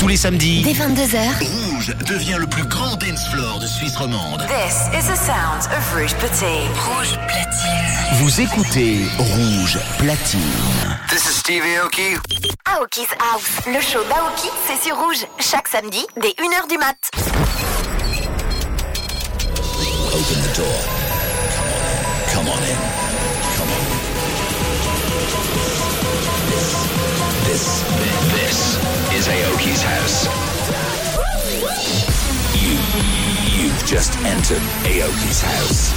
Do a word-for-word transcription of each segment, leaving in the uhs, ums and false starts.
Tous les samedis, dès vingt-deux heures, Rouge devient le plus grand dance floor de Suisse romande. This is the sound of Rouge Platine. Rouge Platine. Vous écoutez Rouge Platine. This is Steve Aoki. Aoki's House. Le show d'Aoki, c'est sur Rouge. Chaque samedi, dès une heure du mat. Open the door. Come on in. Come on in. This, this, this is Aoki's house. You, you've just entered Aoki's house.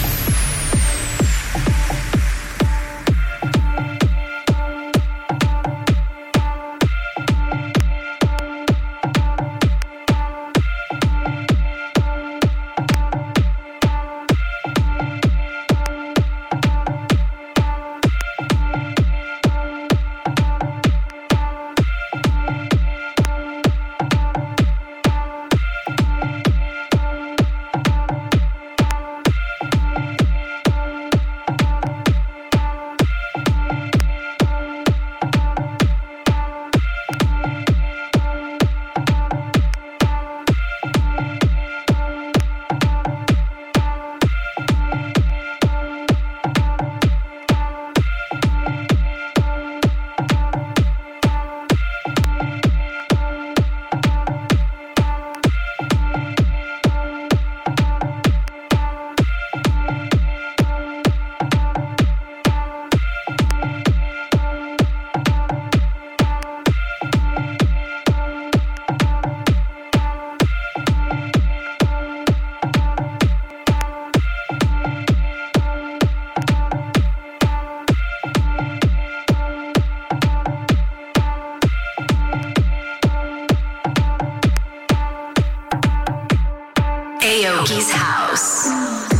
Aoki's house.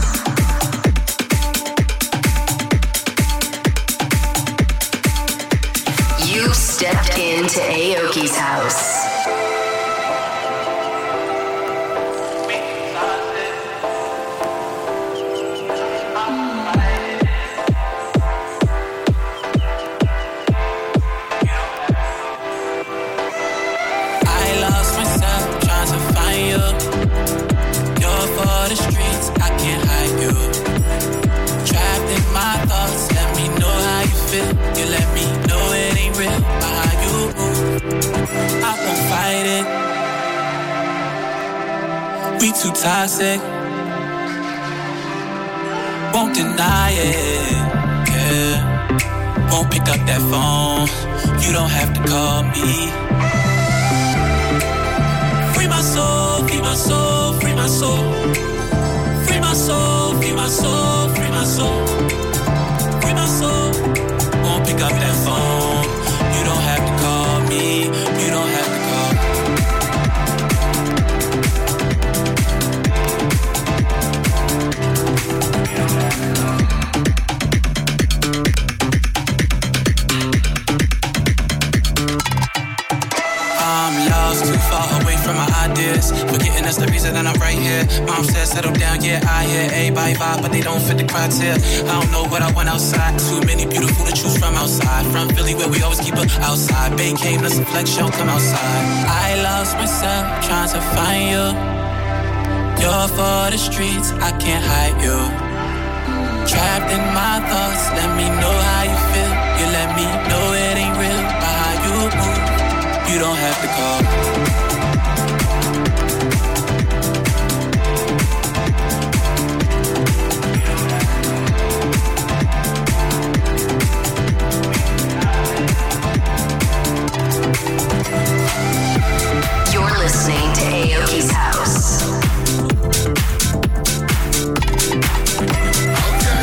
You've stepped into Aoki's house. You let me know it ain't real by how you move. I won't fight it. We too toxic. Won't deny it. Yeah. Won't pick up that phone. You don't have to call me. Free my soul, free my soul, free my soul. Free my soul, free my soul, free my soul. Free my soul. Won't pick up that phone. You don't have to call me. You don't have to call. I'm lost, too far away from my ideas. Forgetting that's the reason that I'm right here. Mom said settle down, yeah, I hear everybody vibe, but they don't fit the criteria. I don't know what I want outside. Too many beautiful to choose from outside. From Philly where we always keep her outside. Bay came, let's flex, show, come outside. I lost myself trying to find you. You're for the streets, I can't hide you. Trapped in my thoughts, let me know how you feel. You let me know it ain't real by how you move. You don't have to call. You're listening to Aoki's house. Okay.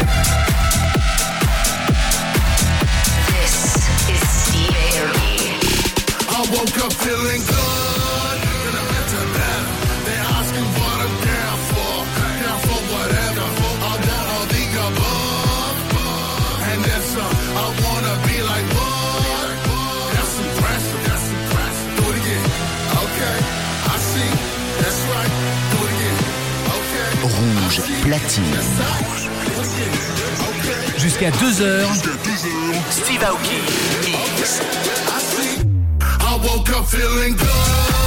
This is Steve Aoki. I woke up feeling good. Then I went to bed. They asking what I'm down for. Down for whatever. I want all the above. And then some. I wanna be like what? That's impressive. That's impressive. Do it again. Okay. I see. That's right. Do it again. Okay. Rouge Platine. Okay. Jusqu'à deux heures, Steve Aoki. I see. I woke up feeling good.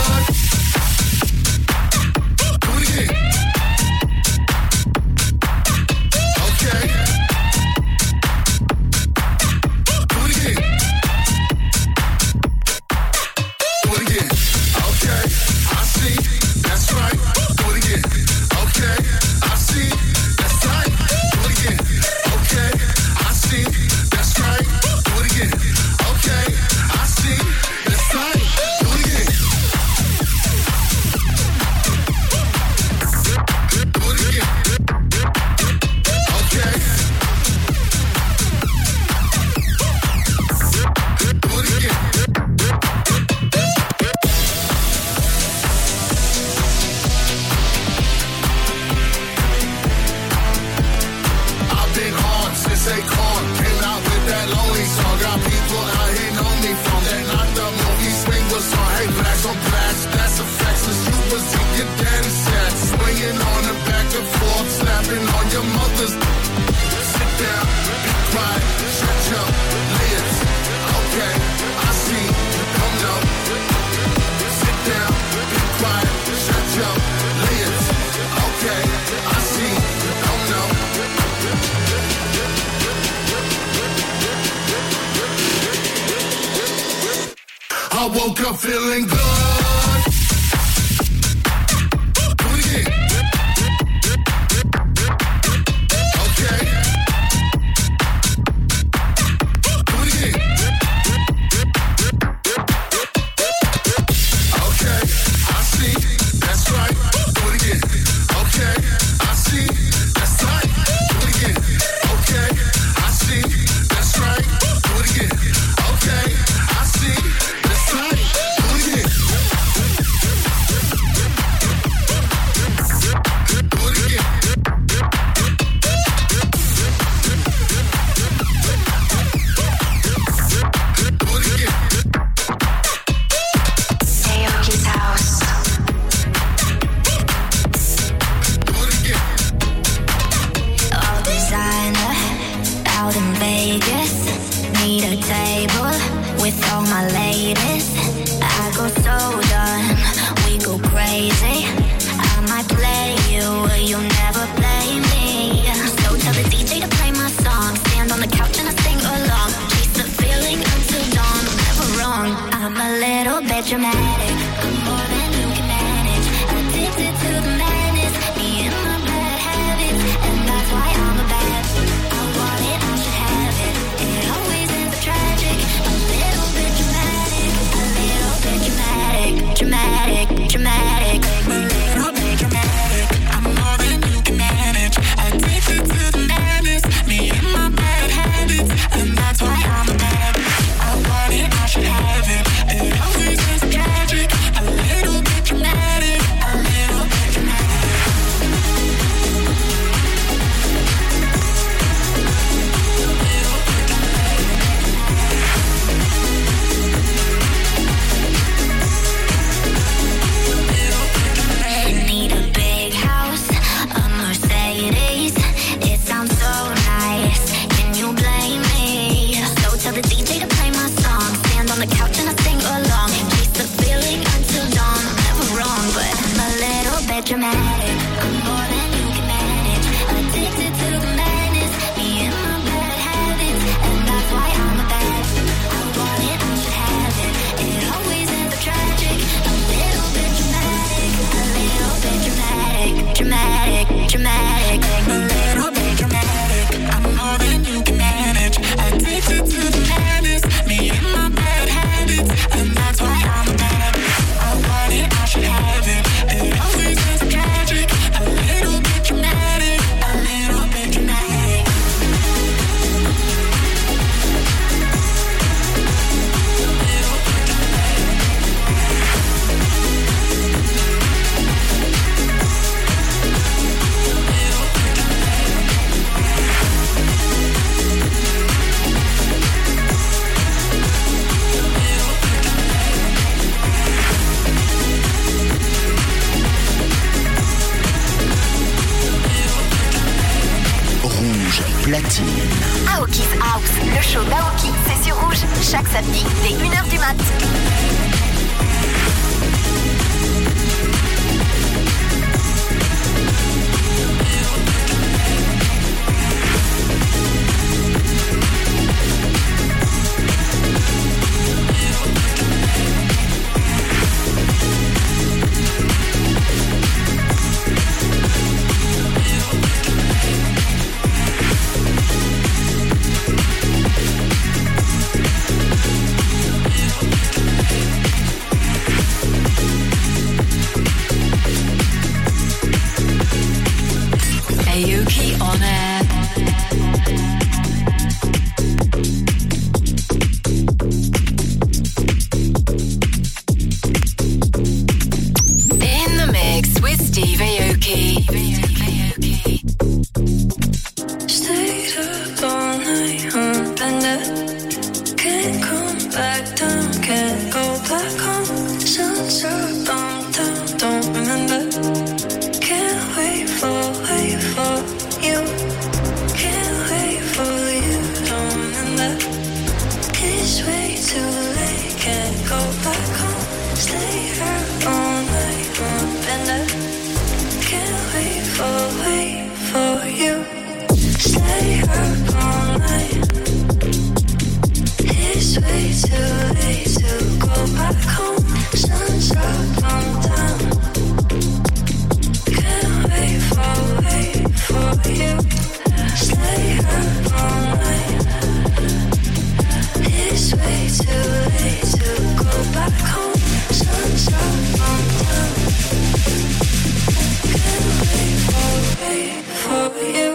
I woke up feeling good. Do it again. Okay. Do it again. Okay, I see. That's right. Do it again. Okay, I see. That's right. Do it again. Okay, I see. That's right. Do it again. Okay, I see. That's right. Do it again. Do it again. Do it again. Aoki's house. Do it again. All designer, out in Vegas. Need a table with all my ladies. I go so done, we go crazy. I might play you, you'll never play me. So tell the D J to play my song. Stand on the couch and I sing along. Chase the feeling until dawn, I'm never wrong. I'm a little bit dramatic, I'm more than you can manage. Addicted to the madness, me and my bad habits. And that's why I'm a bad. I want it, I should have it. It always ends up tragic. A little bit dramatic, a little bit dramatic, dramatic, dramatic. A little bit dramatic. I'm more than you can manage. Addicted to the madness, me and my bad habits, and that's why I'm a bad. I want it, I should have it. It always is tragic. A little bit dramatic, a little bit dramatic. Need a big house, a Mercedes. It sounds so nice. Can you blame me? So tell the D J to play my song. Stand on the couch and I sing along. Chase the feeling until dawn. I'm never wrong, but I'm a little bit dramatic. I'm more than you can manage. Addicted to the madness, me and my bad habits, and that's why I'm a bad. I want it, I should have it. It always ends up tragic. A little bit dramatic, a little bit dramatic, dramatic, dramatic. A little bit dramatic. I'm more than you can manage. Addicted to the madness, me and my bad habits, and that's why I'm a bad. I want it, I should have it. It always is tragic. A little bit dramatic, a little bit dramatic. Rouge platine. Aoki's House, le show d'Aoki, c'est sur Rouge, chaque samedi dès une heure du mat. Aoki on air. In the mix with Steve Aoki. Stayed up all night on bender. Can't come back down, can't go back home. Sun's up, I'm down, don't remember. Can't wait for, wait for you. Can't wait for you, don't remember. It's way too late, can't go back home. Stay up all night on bender. Can't wait for, wait for you. Stay up all night. It's way too late to go back. back home. Sun's up, I'm down. Can't wait for, wait for you. Stay up all night. It's way too late to go back home. Sun's up, I'm down. Can't wait for, wait for you.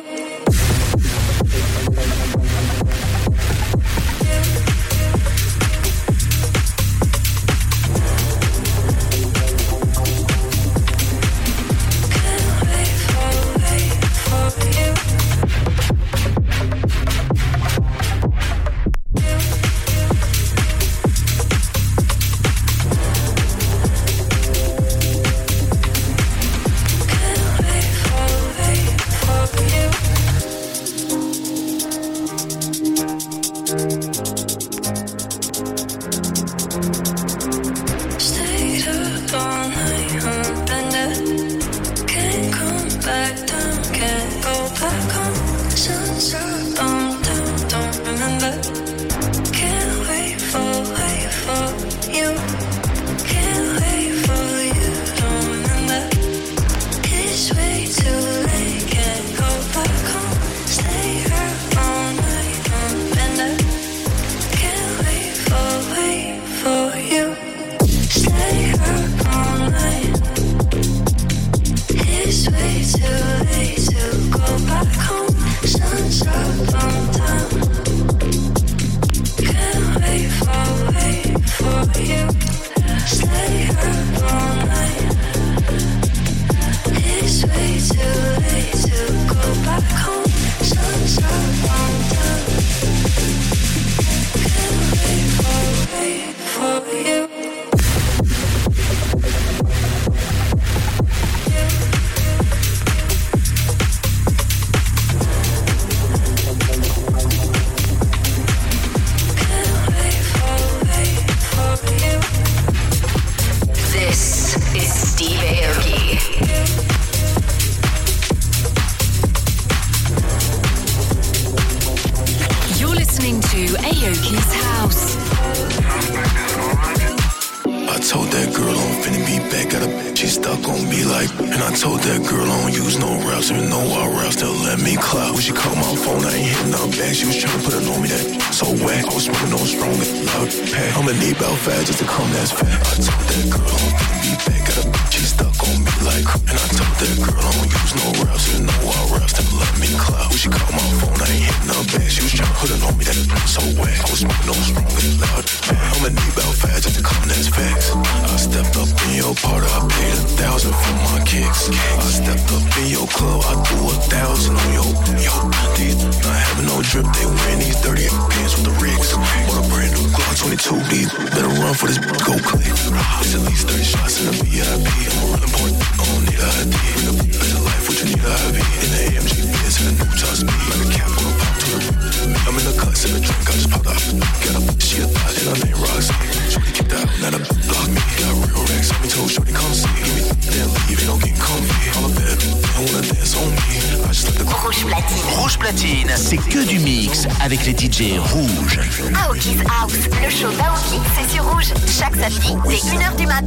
C'est que du mix avec les D J rouges. Aoki's House, le show d'Aoki, c'est sur Rouge. Chaque samedi, dès une heure du mat.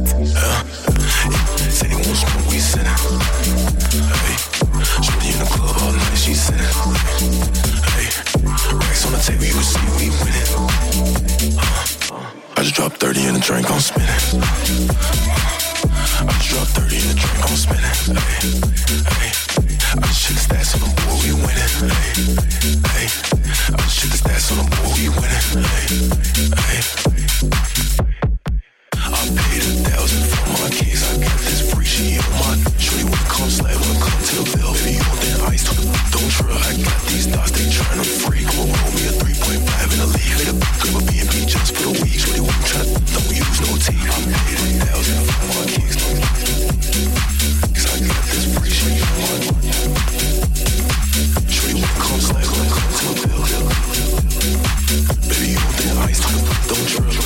I just dropped thirty in a drink, I'm spinning. I just dropped thirty in a drink, I'm spinning. Hey, hey. I just check the stats on the board, we winning. Hey, hey. I just check the stats on the board, we winning. Hey, hey. I paid a thousand for my keys, I got this free, she on my shorty wanna come slide, wanna come to the bill. Baby, on that ice, don't try. I got these thoughts, they tryna free. Come on, roll me a three point five in the league. Made a grab a B and B just for the week. Shorty wanna tryna, don't use no tea. I paid a thousand for my keys, cause I got this free, she on my shorty wanna come slide, wanna come to the bill. Baby, on that ice, don't try.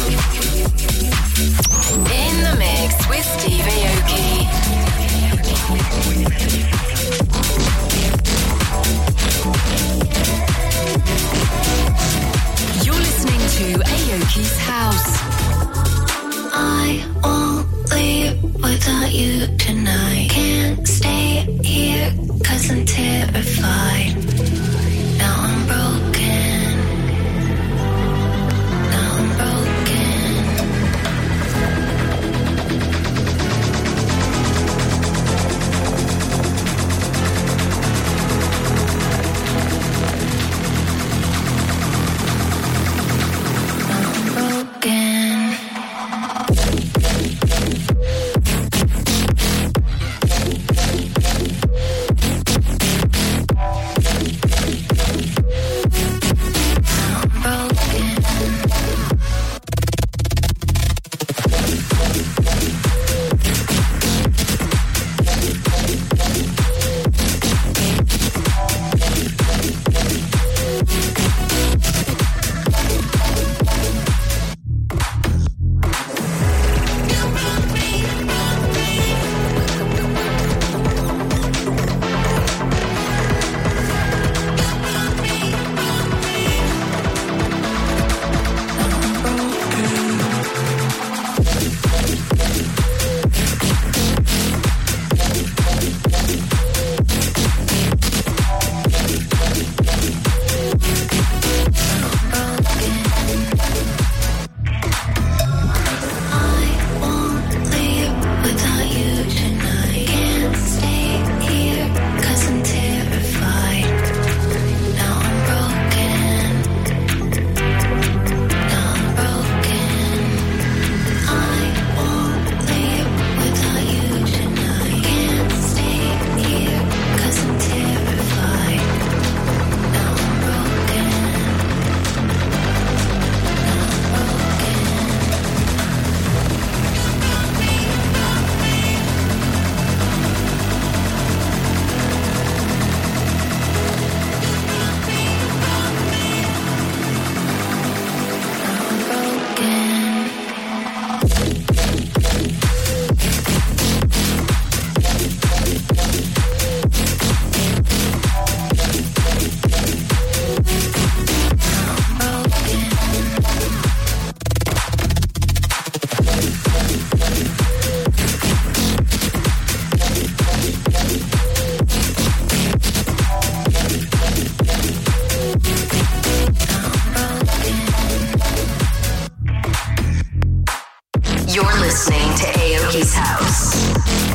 You're listening to Aoki's House.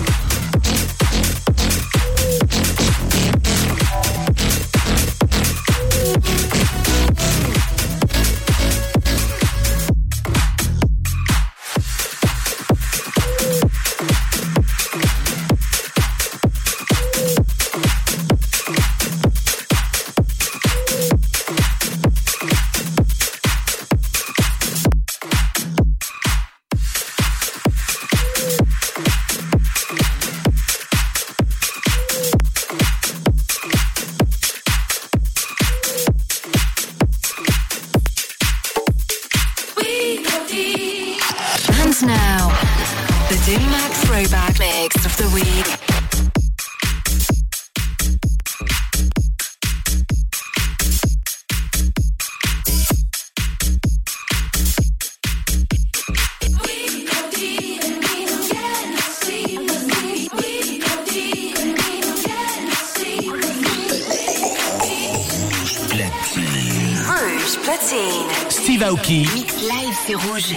Steve Aoki. Mix live, c'est Rouge.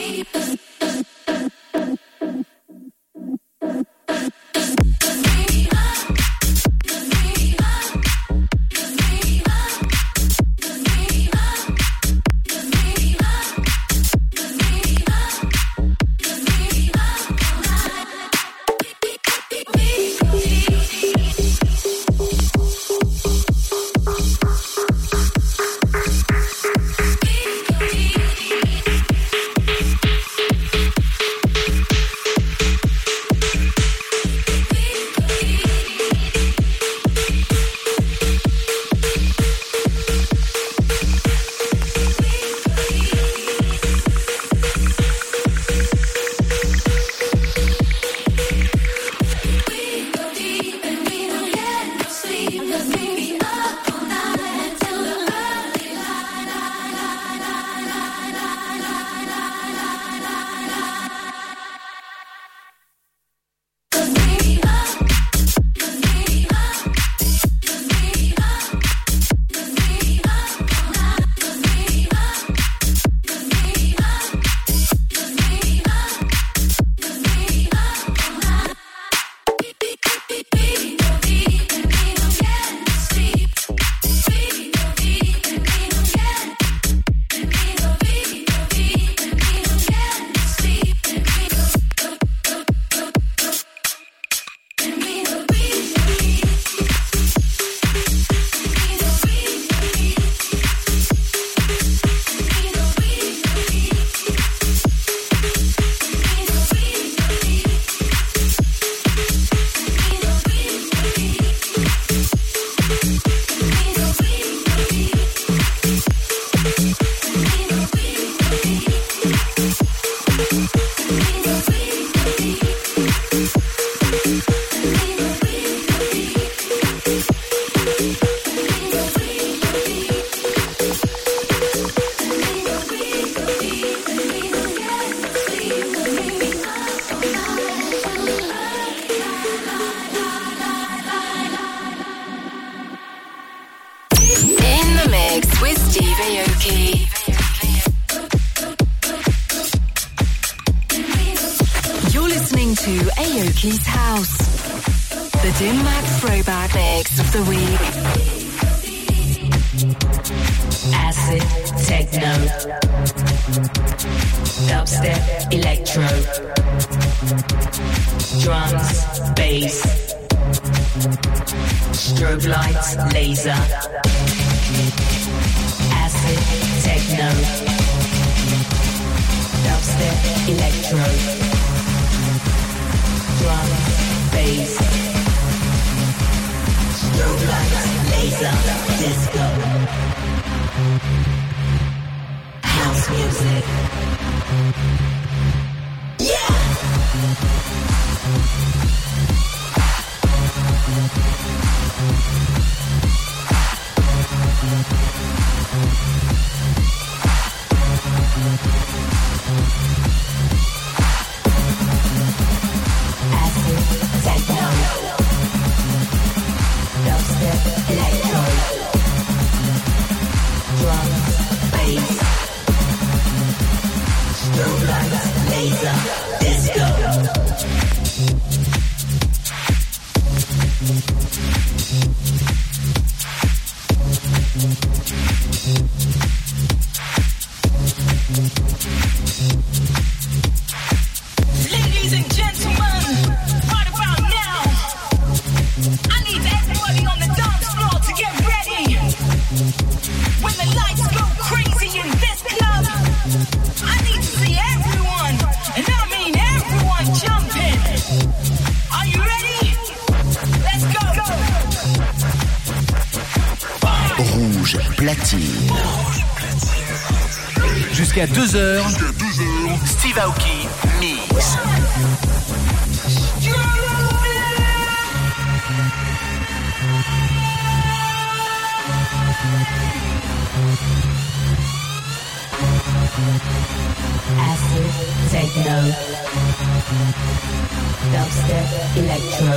Aoki's House, the Dim Mak throwback mix of the week. Acid, techno, dubstep, electro, drums, bass, strobe lights, laser. Acid, techno, dubstep, electro, drum, bass, strobe lights, laser, disco, house music. Yeah! Laser, Ladies and gentlemen, right about now, I need everybody on the dance floor to get ready. When the lights go crazy in this club, I need to see everyone, and I mean everyone jumping. Are you ready? Let's go. Rouge platine. Jusqu'à deux heures, Steve Aoki mix. Acid, techno, dubstep, electro,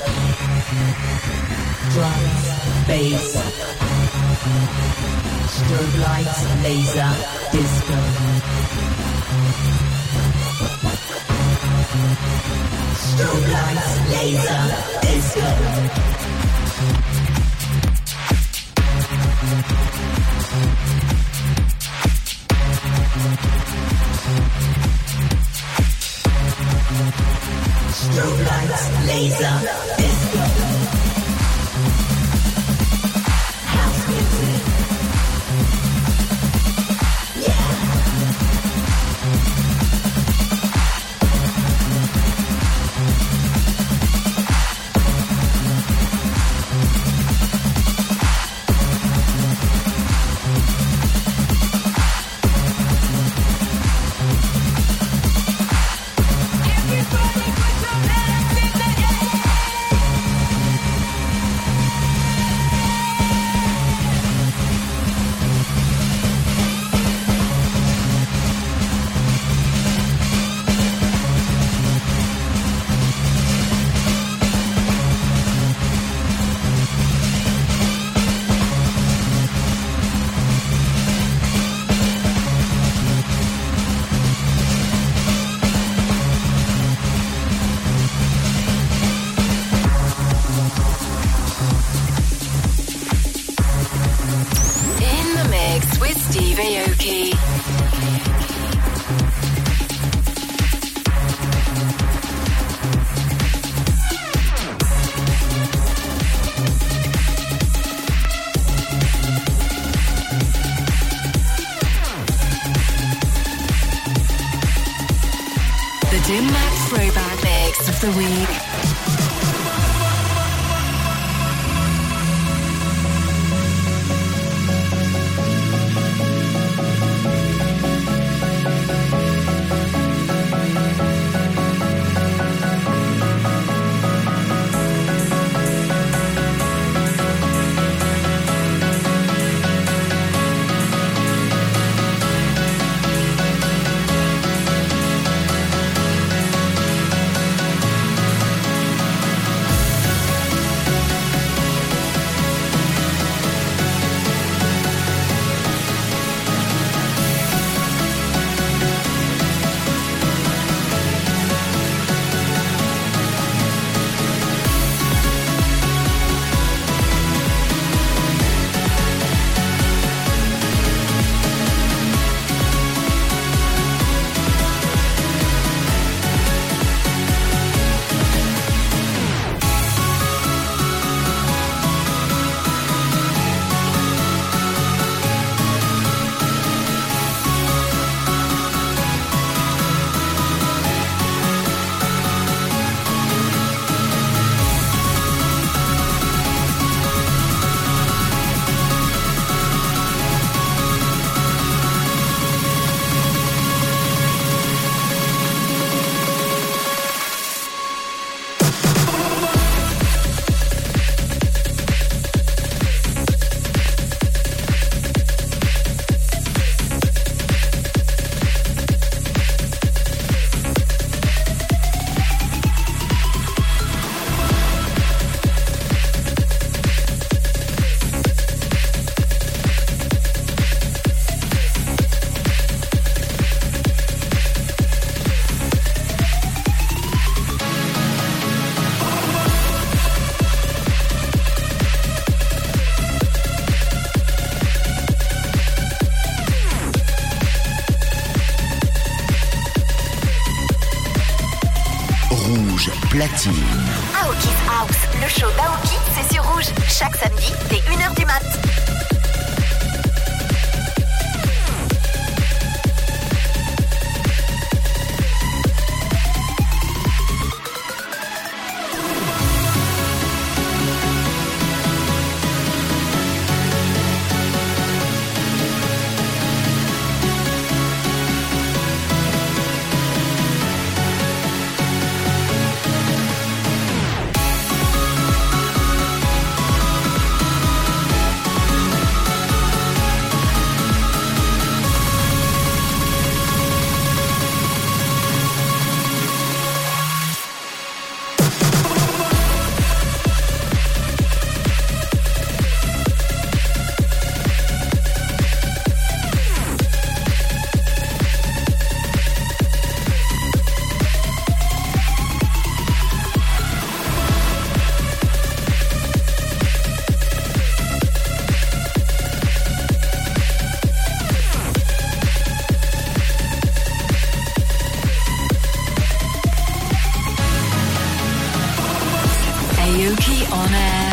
drums, bass, strobe lights, laser, disco. Strobe lights, laser, disco. Strobe lights, laser, disco. House music. Yeah. Dim Mak Throwback Mix of the Week. Rouge platine. Aoki's House, le show d'Aoki, c'est sur Rouge, chaque samedi dès une heure du mat. Aoki on air.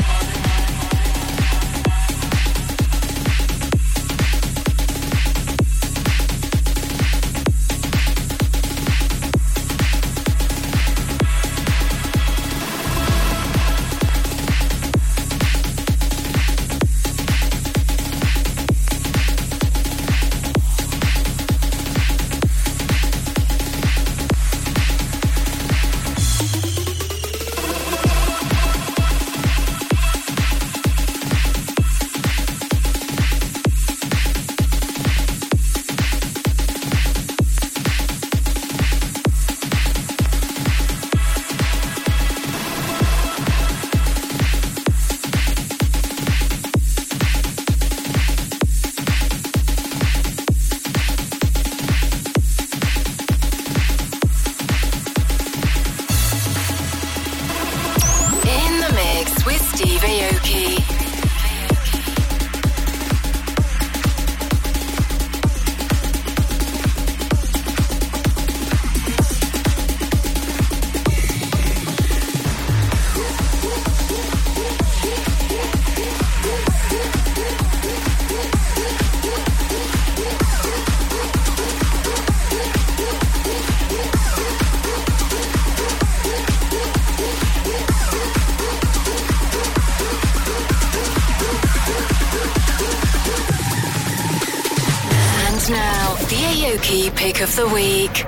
Aoki Pick of the Week.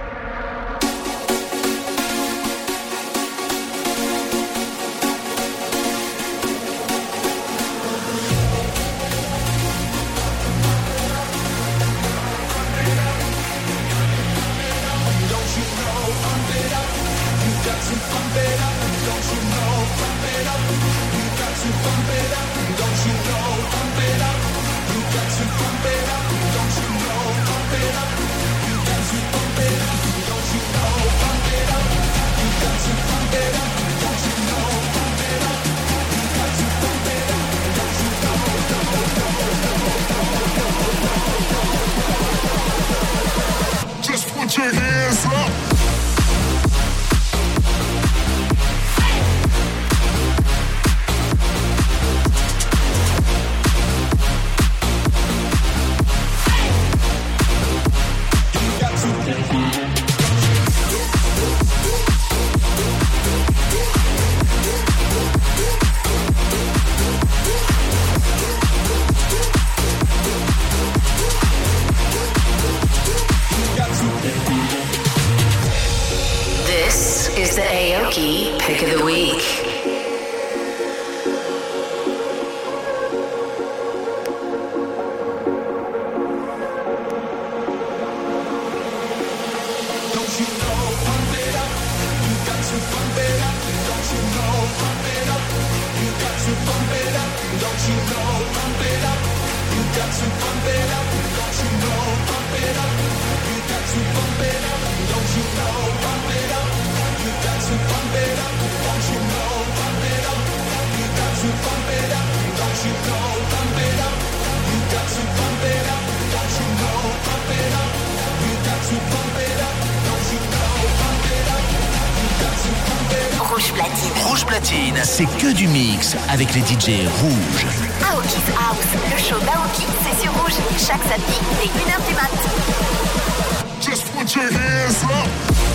Don't you know? platine. C'est que du mix avec les D J rouges. Aoki's House, le show d'Aoki, c'est sur Rouge, chaque samedi dès une heure du mat. Just put your hands up.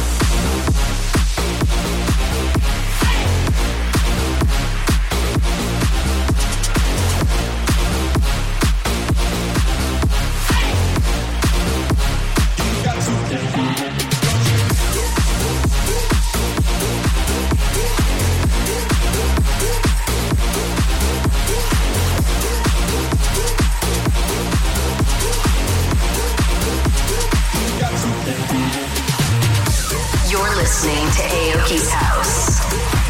You're listening to Aoki's House.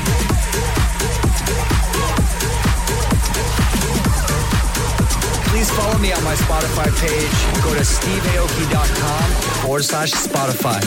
Please follow me on my Spotify page. Go to steve aoki dot com forward slash Spotify.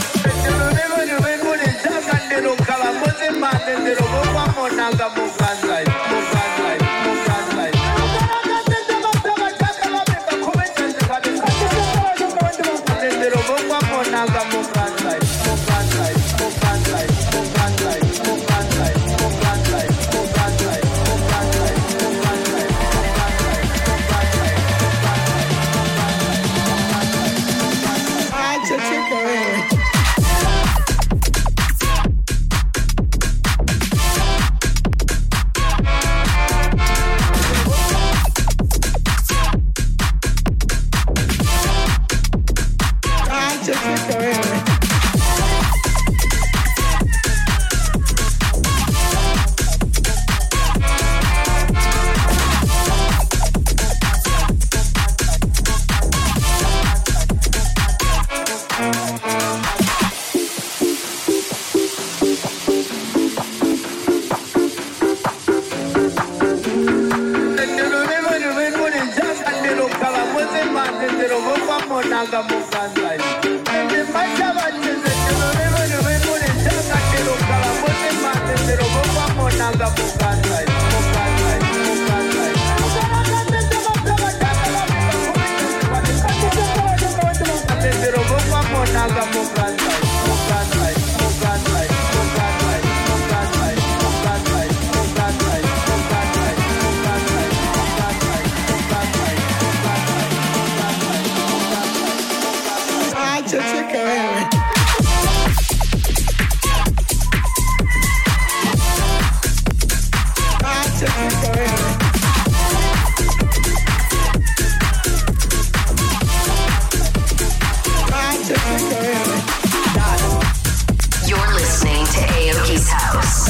You're listening to Aoki's House.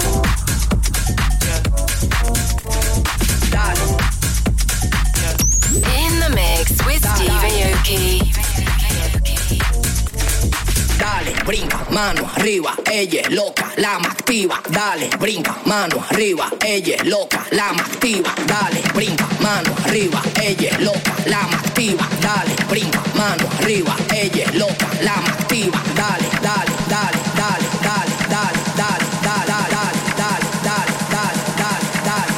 In the mix with Steve Aoki. Dale, brinca, mano arriba, ella es loca, la más activa. Dale, brinca, mano arriba, ella es loca, la más activa. Dale, brinca, mano arriba, ella es loca, la más activa. Dale, brinca, mano arriba, ella es loca, la más activa. Dale, dale, dale, dale, dale, dale, dale, dale, dale, dale, dale, dale, dale, dale,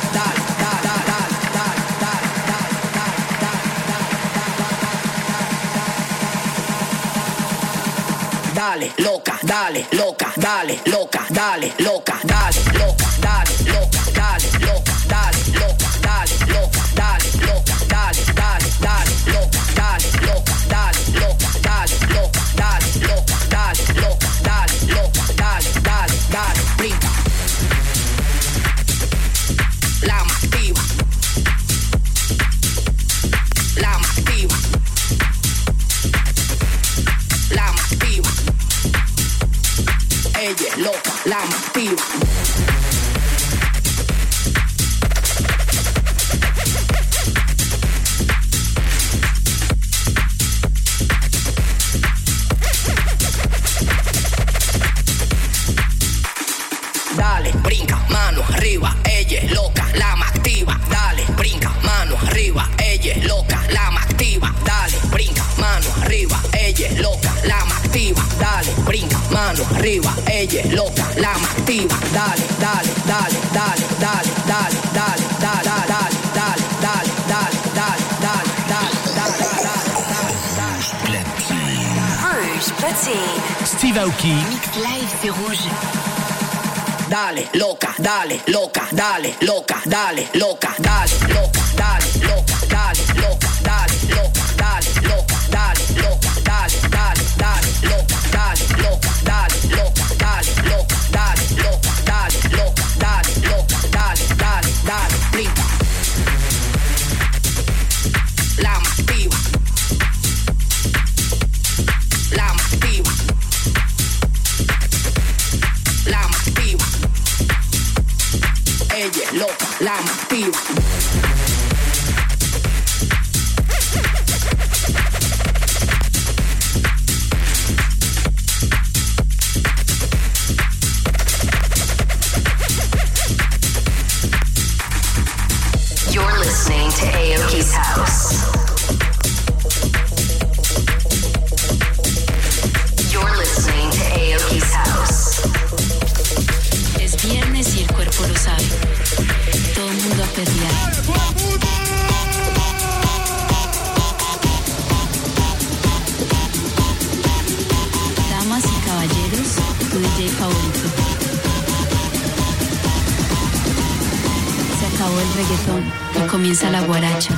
dale, loca, dale, loca, dale, loca, dale, loca, dale, loca, dale, loca, dale, loca, dale, loca, dale, loca, dale, loca, dale, dale, dale, loca, dale, loca, dale, loca, dale, loca, dale, loca, dale, loca, dale, loca, dale, dale, dale, brinca. La más activa. La más activa. La más activa. Ella es loca, la más activa. Dale, brinca, mano arriba, ella es loca, la más activa. Dale, brinca, mano arriba, ella es loca, la más activa. Dale, brinca, mano arriba, ella es loca, la más activa. Dale, brinca, mano arriba, ella es loca, la más activa. Dale, dale, dale, dale, dale, dale, dale, dale, dale, dale, dale, dale, dale, dale, dale, dale, Rouge Platine. Steve Aoki. Mix live, c'est Rouge. dale, loca, dale, loca, dale, loca, dale, loca, dale, loca, dale, loca, dale, loca, dale, loca, dale, loca, dale, loca, dale, dale, dale, loca, dale, loca, dale, loca, dale, loca, dale, loca, dale, loca, dale, loca, dale, dale, dale, brinca. La más activa. La más activa. La más activa. Ella es loca, la más activa. You're listening to Aoki's House. You're listening to Aoki's House. Es viernes y el cuerpo lo sabe. Todo el mundo a perrear. Damas y caballeros, tu D J favorito. Se acabó el reggaetón y comienza la guaracha.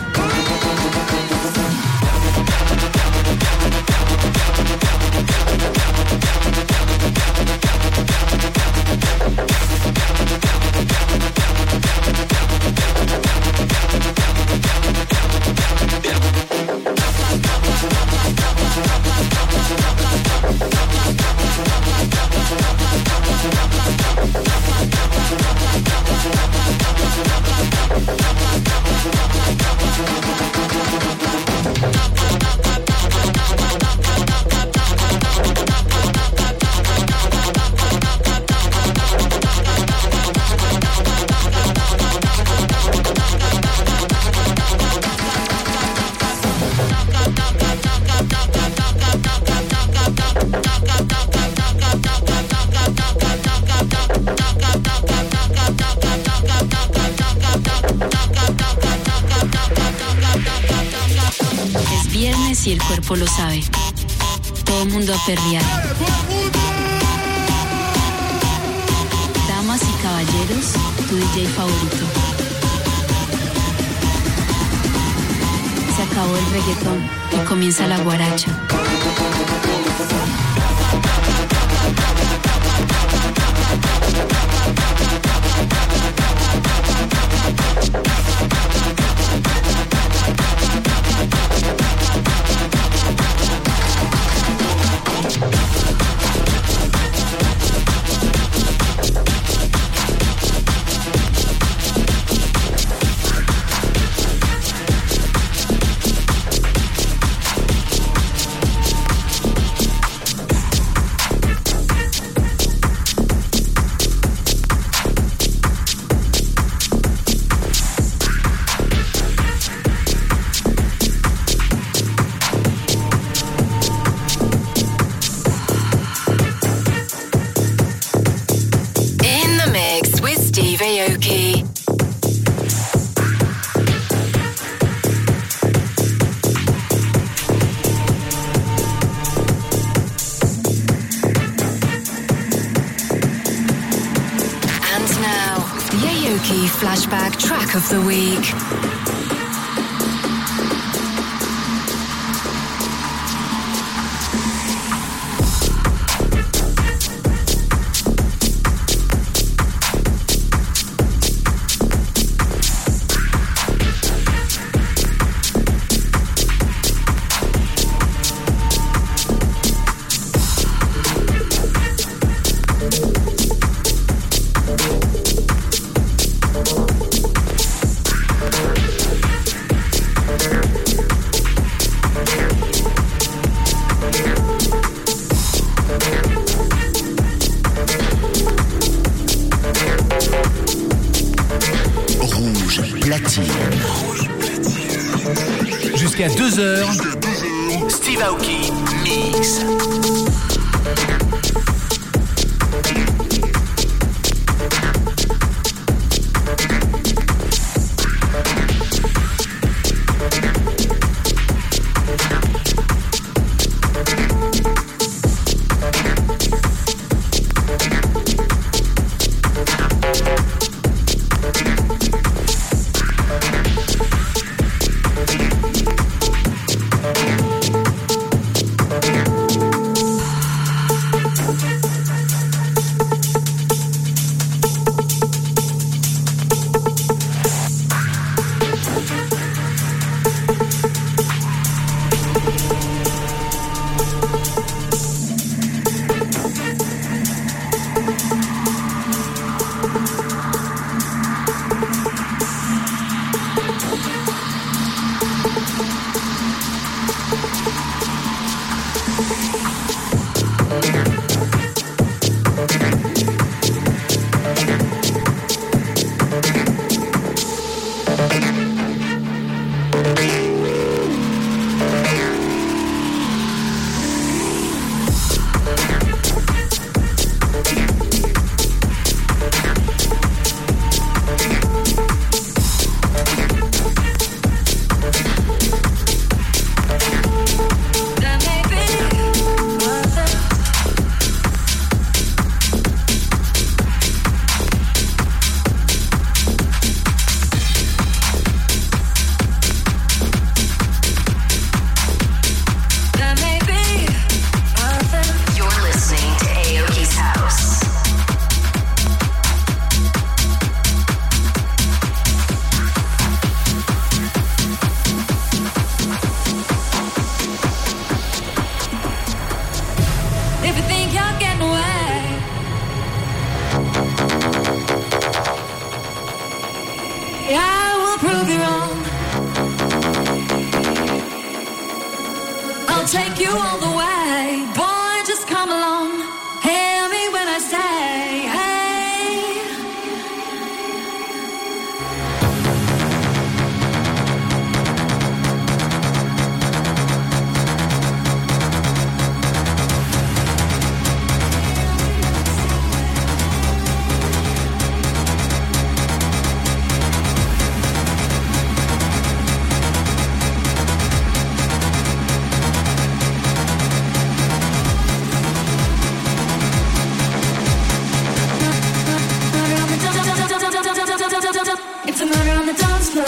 Y el cuerpo lo sabe. Todo el mundo a perrear. Damas y caballeros, tu D J favorito. Se acabó el reggaetón y comienza la guaracha. Aoki. And now, the Aoki Flashback Track of the Week. Jusqu'à deux heures, Steve Aoki Mix. take you all the way. Boy, just come along. Hear me when I say, hey. It's a murder on the dance floor.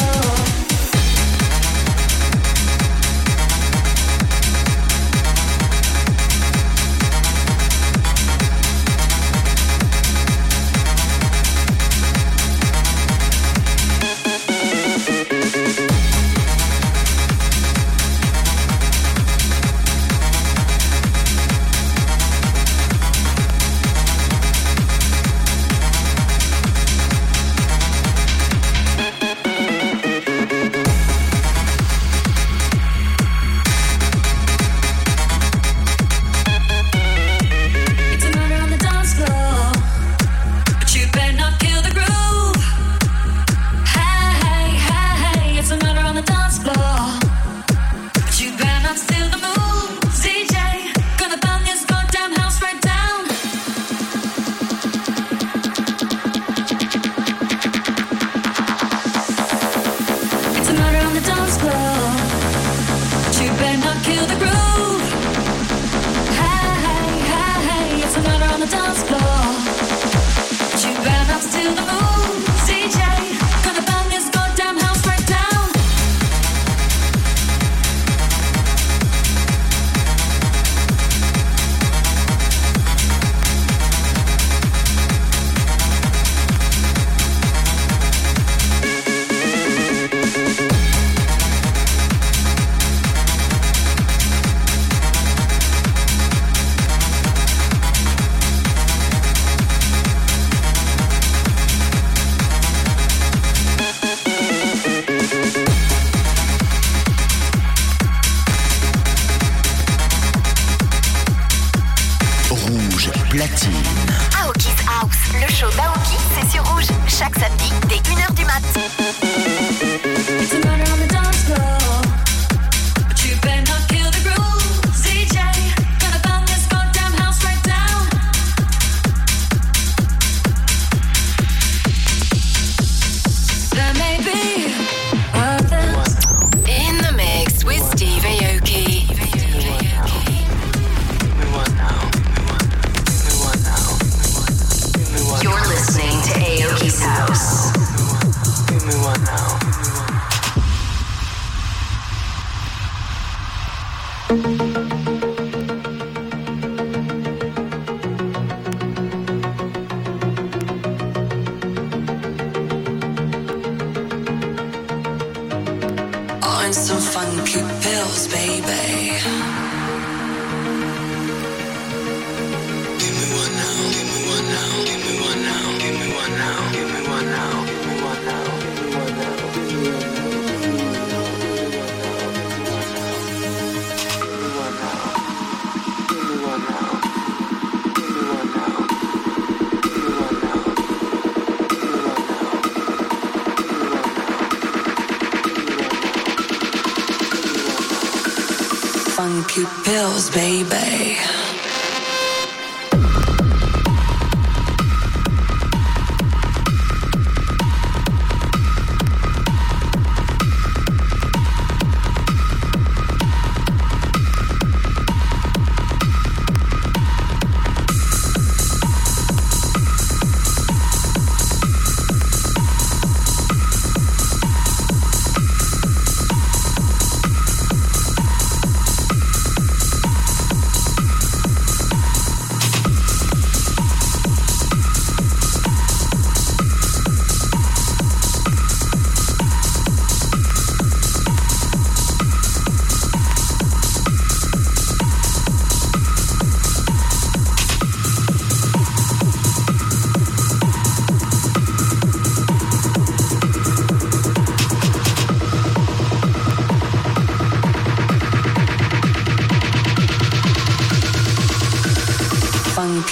Funky pills, baby.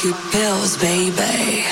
funky pills, baby.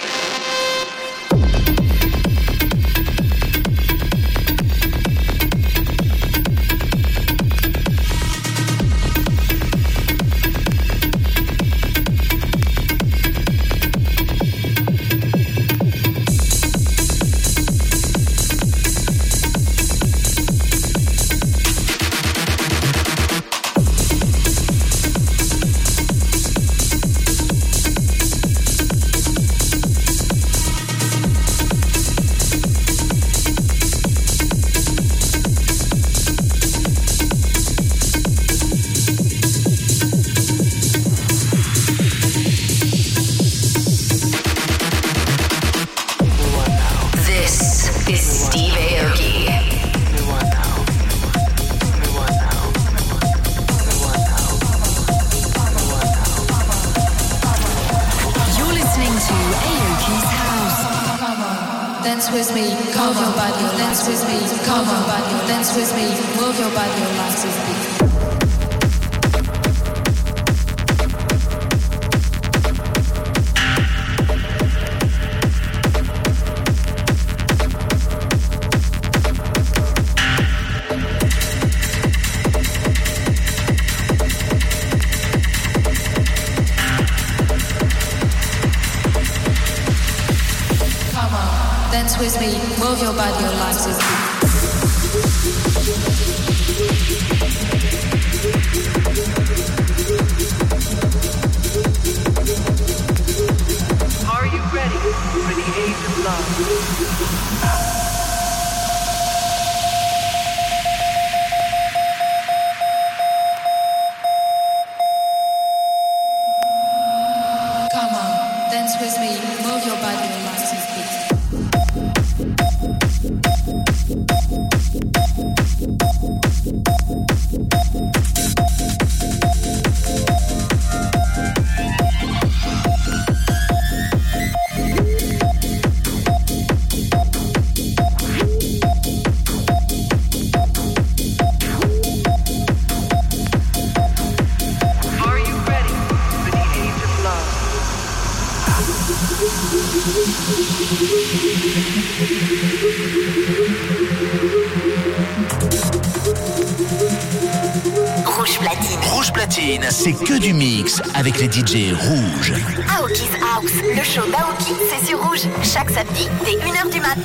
Rouge Platine. Rouge Platine, c'est que du mix avec les D J rouges. Aoki's House, le show d'Aoki, c'est sur Rouge, chaque samedi dès une heure du mat.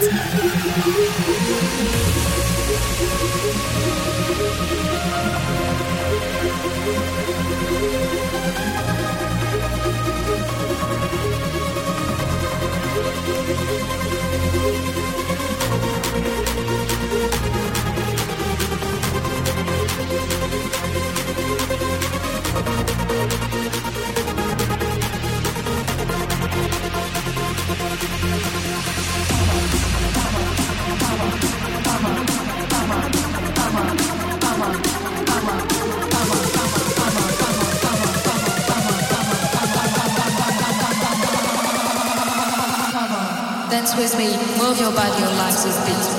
Dance with me, move your body, your life is beat.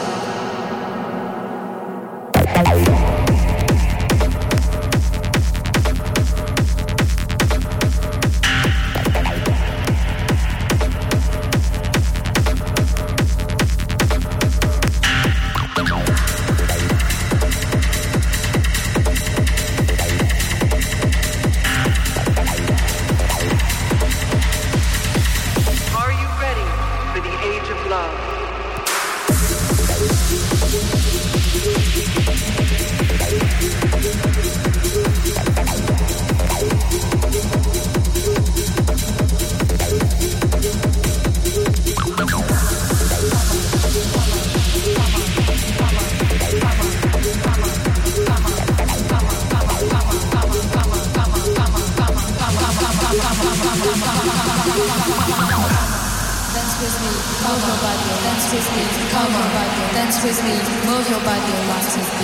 Dance with me, move your body, your life is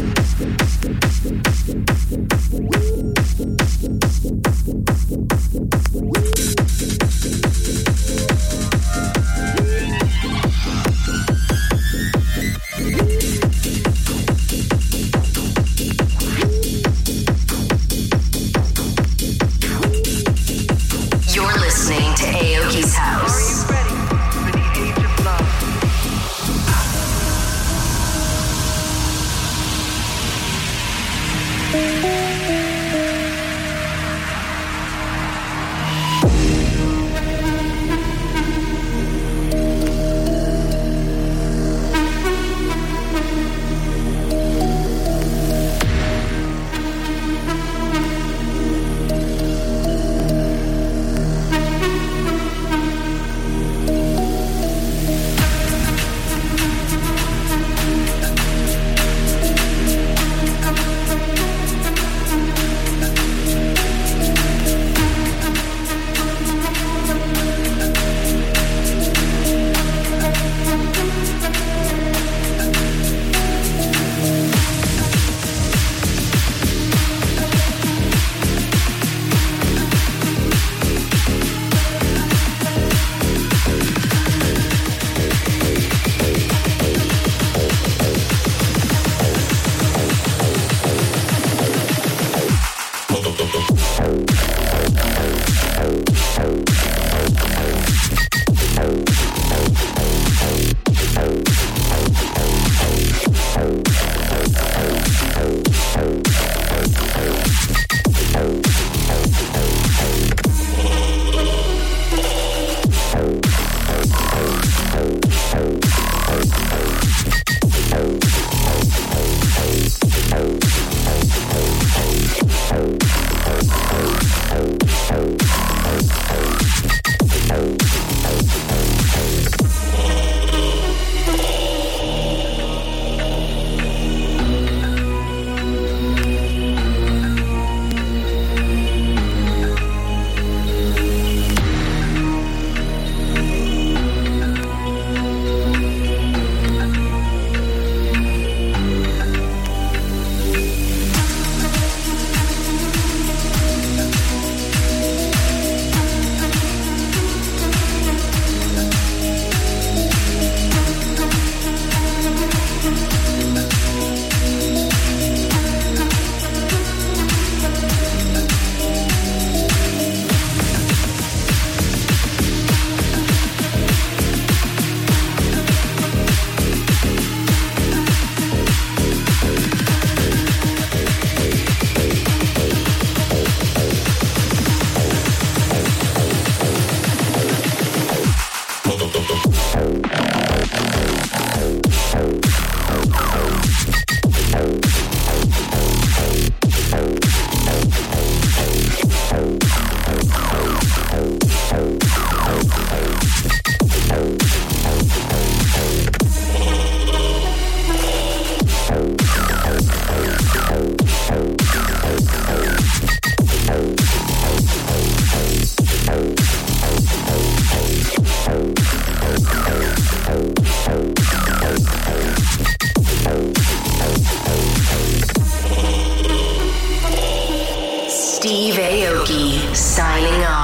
beat.